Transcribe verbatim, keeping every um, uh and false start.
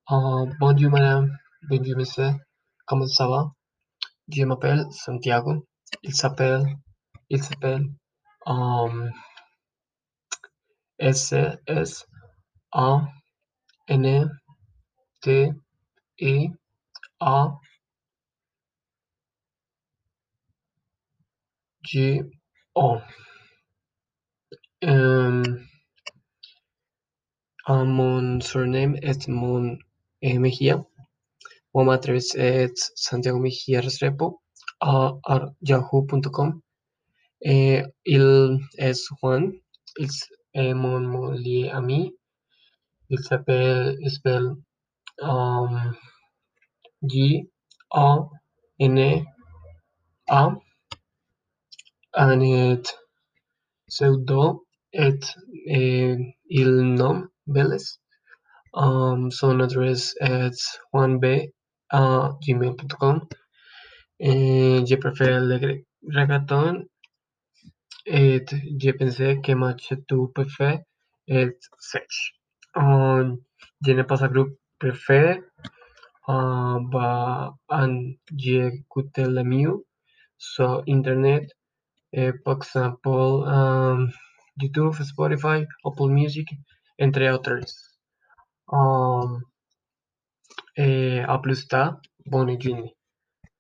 Euh, bonjour madame, bonjour monsieur, comment ça va? Je m'appelle Santiago. Il s'appelle, il s'appelle um, S S A N T I A G O. Um, uh, mon surname es Mon eh, Mejía. Mon address es Santiago Mejía Restrepo a a yahoo punto com. Eh, il es Juan. Il s- eh, mon mon lié ami. Il s'appelle, il s'appelle um, G A N A and it pseudo et eh, il nom Vélez. Um, son address es juanb a gmail punto com. Eh, je préfère le gre- reggaeton et je pensais que match tu préfères est sèche. Um, je n'ai pas un groupe préféré. Uh, bah, and j'écoute le mieux sur Internet, eh, par exemple, um, YouTube, Spotify, Apple Music, entre autres. Um, eh, à plus tard, bonne journée.